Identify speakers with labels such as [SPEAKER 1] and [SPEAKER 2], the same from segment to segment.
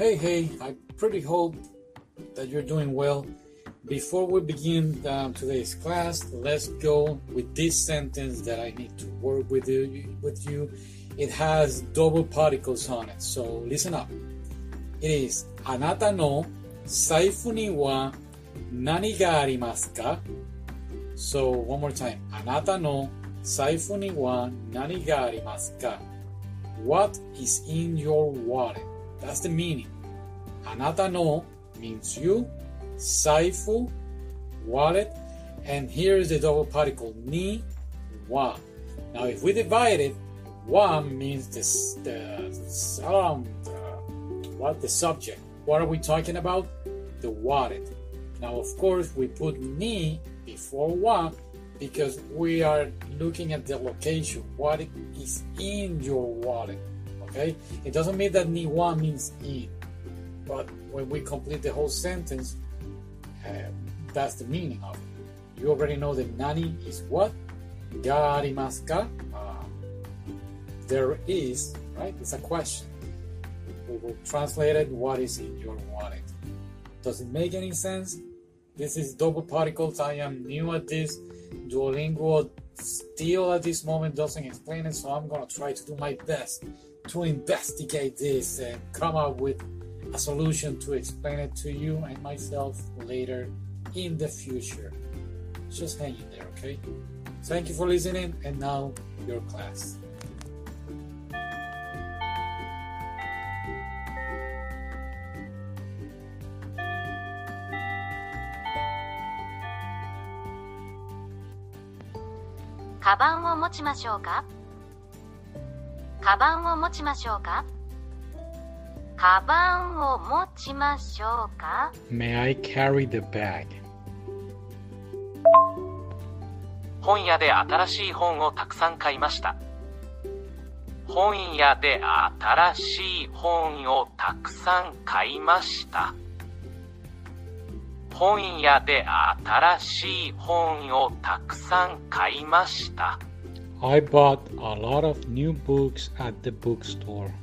[SPEAKER 1] Hey, I pretty hope that you're doing well. Before we begin today's class, let's go with this sentence that I need to work with you. It has double particles on it, so listen up. It is あなたの財布には何がありますか? So one more time. あなたの財布には何がありますか? What is in your wallet? That's the meaning. あなたの means you, 財布 wallet, and here's the double particle には. Now if we divide it, は means the subject. What are we talking about? The wallet. Now of course we put ni before wa because we are looking at the location, what is in your wallet. Okay? It doesn't mean that ni wa means in, but when we complete the whole sentence, that's the meaning of it. You already know that nani is what? Ga arimasu ka? There is, right? It's a question. We will translate it, what is in your wallet? Does it make any sense? This is double particles. I am new at this. Duolingo still at this moment doesn't explain it, so I'm going to try to do my best to investigate this and come up with a solution to explain it to you and myself later in the future. Just hang in there, okay? Thank you for listening, and now your class.
[SPEAKER 2] カバンを持ちましょうか。カバンを持ちましょうか。カバンを持ちましょうか。
[SPEAKER 1] May I carry the bag?
[SPEAKER 3] 本屋で新しい本をたくさん買いました。本屋で新しい本をたくさん買いました。本屋で新しい本をたくさん買いました。
[SPEAKER 1] I bought a lot of new books at the bookstore.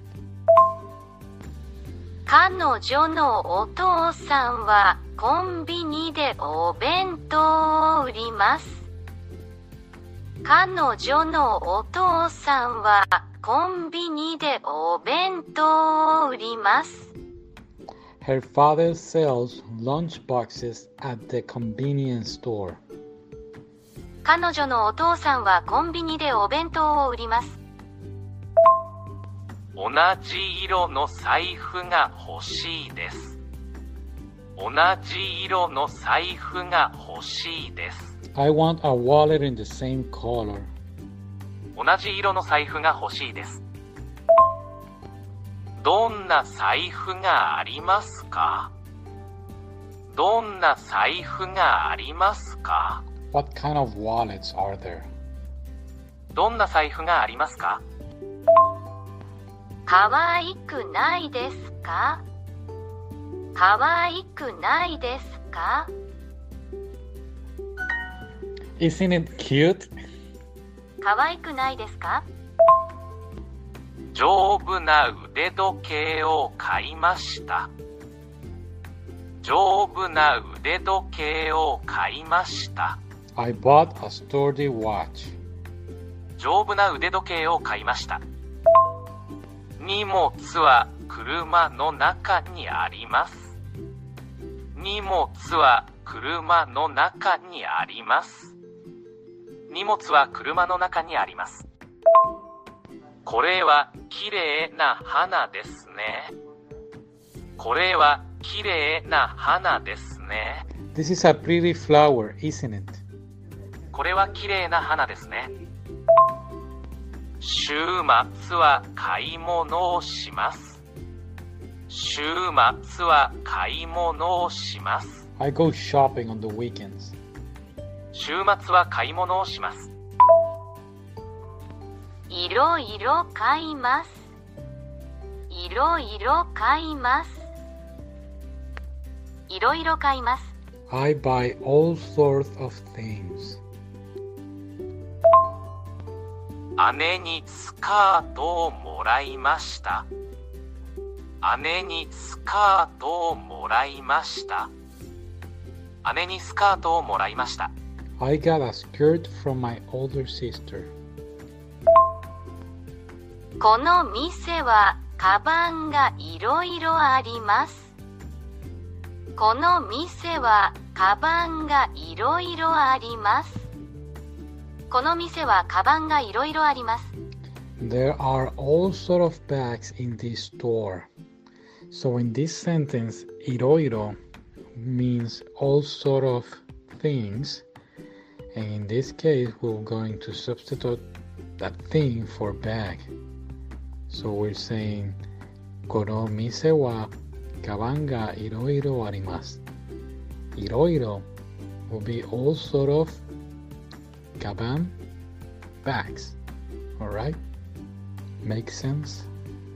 [SPEAKER 2] 彼女のお父さんはコンビニでお弁当を売ります。彼女のお父さんはコンビニでお弁当を売ります。
[SPEAKER 1] Her father sells lunch boxes at the convenience store.
[SPEAKER 2] 彼女のお父さんはコンビニでお弁当を売ります。
[SPEAKER 3] 同じ色の財布が欲しいです。同じ色の財布が欲しいです。
[SPEAKER 1] I want a wallet in the same color.
[SPEAKER 3] 同じ色の財布が欲しいです。どんな財布がありますか？どんな財布がありますか？
[SPEAKER 1] What kind of wallets are there?
[SPEAKER 3] どんな財布がありますか？
[SPEAKER 2] かわいくないですか？かわいくないですか？
[SPEAKER 1] Isn't it cute?
[SPEAKER 2] かわいくないですか？
[SPEAKER 3] 丈夫な腕時計を買いました。丈夫な腕時計を買いました。
[SPEAKER 1] I bought a sturdy watch.
[SPEAKER 3] 丈夫な腕時計を買いました。荷物は車の中にあります。荷物は車の中にあります。荷物は車の中にあります。これはきれいな花ですね。これはきれいな花ですね。
[SPEAKER 1] This is a pretty flower, isn't it?
[SPEAKER 3] これはきれいな花ですね。週末は買い物をします。週末は買い物をします。
[SPEAKER 1] I go shopping on the weekends.
[SPEAKER 3] 週末は買い物をします。
[SPEAKER 2] いろいろ買います。いろいろ買います。いろいろ買います。
[SPEAKER 1] I buy all sorts of things.
[SPEAKER 3] 姉にスカートをもらいました。 姉にスカートをもらいました。姉にスカートをもらいました。
[SPEAKER 4] I got a skirt from my older sister.
[SPEAKER 2] この店はカバンがいろいろあります。この店はカバンがいろいろあります。この店はカバンがいろいろあります。
[SPEAKER 4] There are all sort of bags in this store. So in this sentence, いろいろ means all sort of things. And in this case, we're going to substitute that thing for bag. So we're saying, この店はカバンがいろいろあります。いろいろ will be all sort of カバン bags. Alright? Make sense?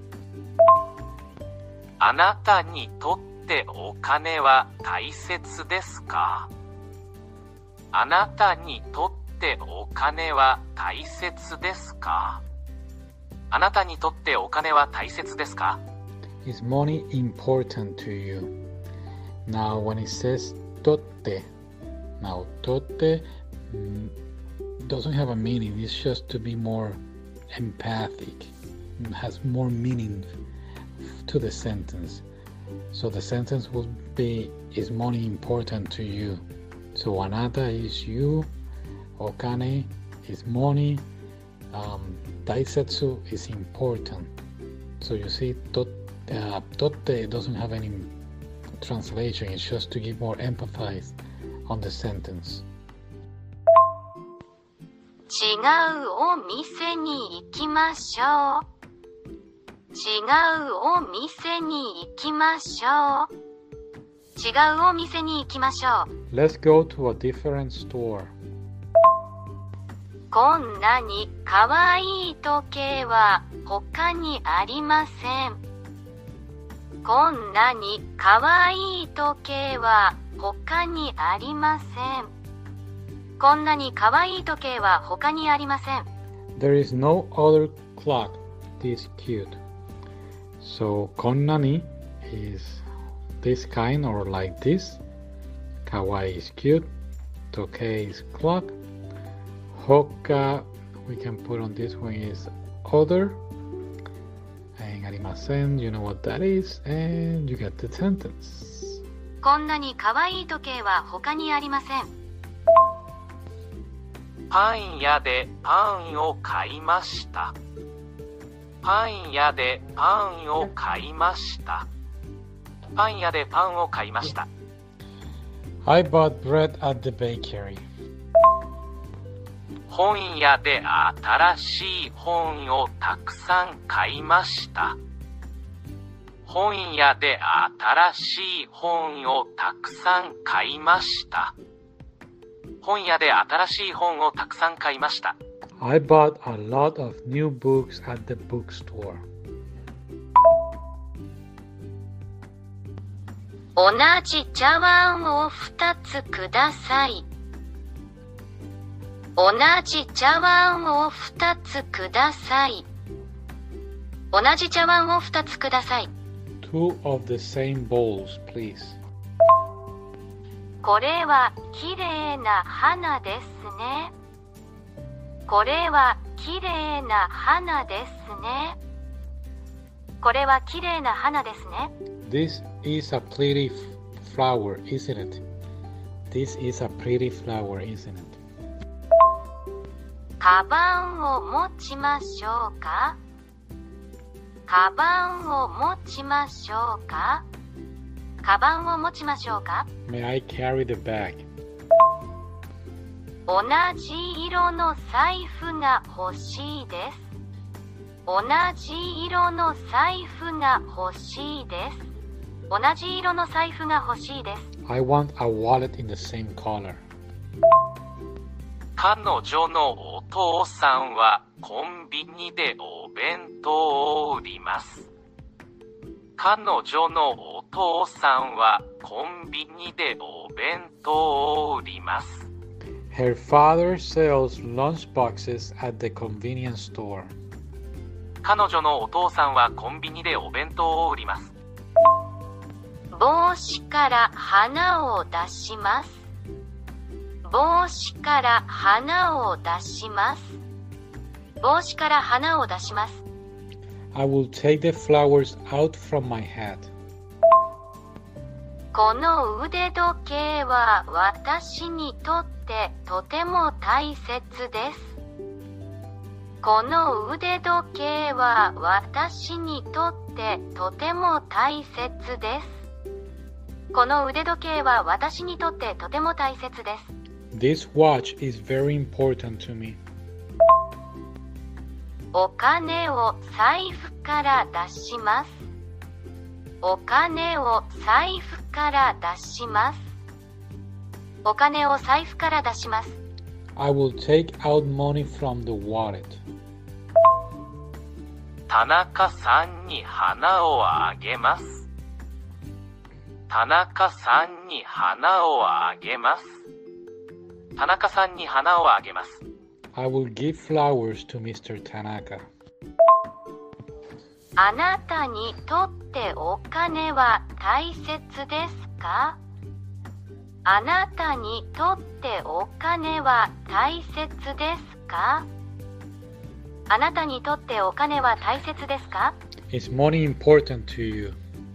[SPEAKER 3] あなたにとってお金は大切ですか？あなたにとってお金は大切ですか？あなたにとってお金は大切ですか？
[SPEAKER 4] Is money important to you? Now when it says とって now とって doesn't have a meaning. It's just to be more empathic. It has more meaning to the sentence. So the sentence will be, is money important to you? So あなた is you, お金 is money, 大切 is important. So you see, とって doesn't have any translation. It's just to give more emphasis on the sentence.
[SPEAKER 2] 違うお店に行きましょう。違うお店に行きましょう。違うお店に行きましょう。
[SPEAKER 4] Let's go to a different store.
[SPEAKER 2] こんなにかわいい時計は他にありません。こんなにかわいい時計は他にありません。こんなにかわいい時計は他にありません。
[SPEAKER 4] There is no other clock this cute. So こんなに is this kind or like this. Kawaii is cute. Tokei is clock. Hoka we can put on this one is other. And arimasen, you know what that is. And you get the sentence.
[SPEAKER 2] こんなにかわいい時計は他にありません。
[SPEAKER 3] パン屋でパンを買いました。パン屋でパンを買いました。パン屋でパンを買いました。
[SPEAKER 4] I bought bread at the bakery.
[SPEAKER 3] 本屋で新しい本をたくさん買いました。本屋で新しい本をたくさん買いました。本屋で新しい本をたくさん買いました。
[SPEAKER 4] I bought a lot of new books at the bookstore.
[SPEAKER 2] 同じ茶碗を2つください。同じ茶碗を2つください。同じ茶碗を2つください。
[SPEAKER 4] Two of the same bowls, please.
[SPEAKER 2] これはきれいな花ですね。これはきれいな花ですね。これはきれいな花ですね。
[SPEAKER 4] This is a pretty flower, isn't it? This is a pretty flower, isn't it?
[SPEAKER 2] カバンを持ちましょうか。カバンを持ちましょうか。カバンを持ちましょうか。
[SPEAKER 4] May I carry the bag?
[SPEAKER 2] 同じ色の財布が欲しいです。同じ色の財布が欲しいです。同じ色の財布が欲しいです。
[SPEAKER 4] I want a wallet in the same color.
[SPEAKER 3] 彼女のお父さんはコンビニでお弁当を売ります。彼女のお父さんはコンビニでお弁当を売ります。
[SPEAKER 4] Her father sells lunch boxes at the convenience store.
[SPEAKER 3] 彼女のお父さんはコンビニでお弁当を売ります。
[SPEAKER 2] 帽子から花を出します。帽子から花を出します。帽子から花を出します。
[SPEAKER 4] I will take the flowers out from my hat.
[SPEAKER 2] この腕時計は私にとってとても大切です。この腕時計は私にとってとても大切です。この腕時計は私にとってとても大切です。
[SPEAKER 4] This watch is very important to me.
[SPEAKER 2] お金を財布から出します。お金を財布から出します。お金を財布から出します。
[SPEAKER 4] I will take out money from the wallet.
[SPEAKER 3] 田中さんに花をあげます。田中さんに花をあげます。田中さんに花をあげます。
[SPEAKER 4] I will give flowers to Mr. Tanaka.
[SPEAKER 2] あなたにとってお金は大切ですか？あなたにとってお金は大切ですか？あなたにとってお金は大切ですか？
[SPEAKER 4] Is money important to you?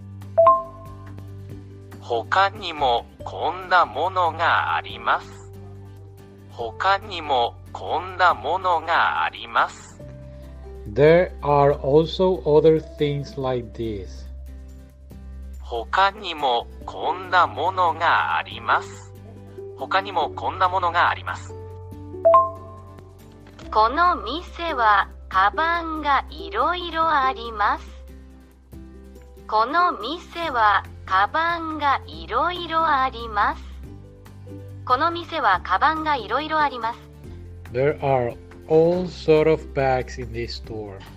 [SPEAKER 3] 他にもこんなものがあります。他にもこんなものがあります。
[SPEAKER 4] There are also other things like this.
[SPEAKER 3] 他にもこんなものがあります。他にもこんなものがあります。
[SPEAKER 2] この店はカバンがいろいろあります。この店はカバンがいろいろあります。この店はカバンがいろいろあります。
[SPEAKER 4] There are all sort of bags in this store.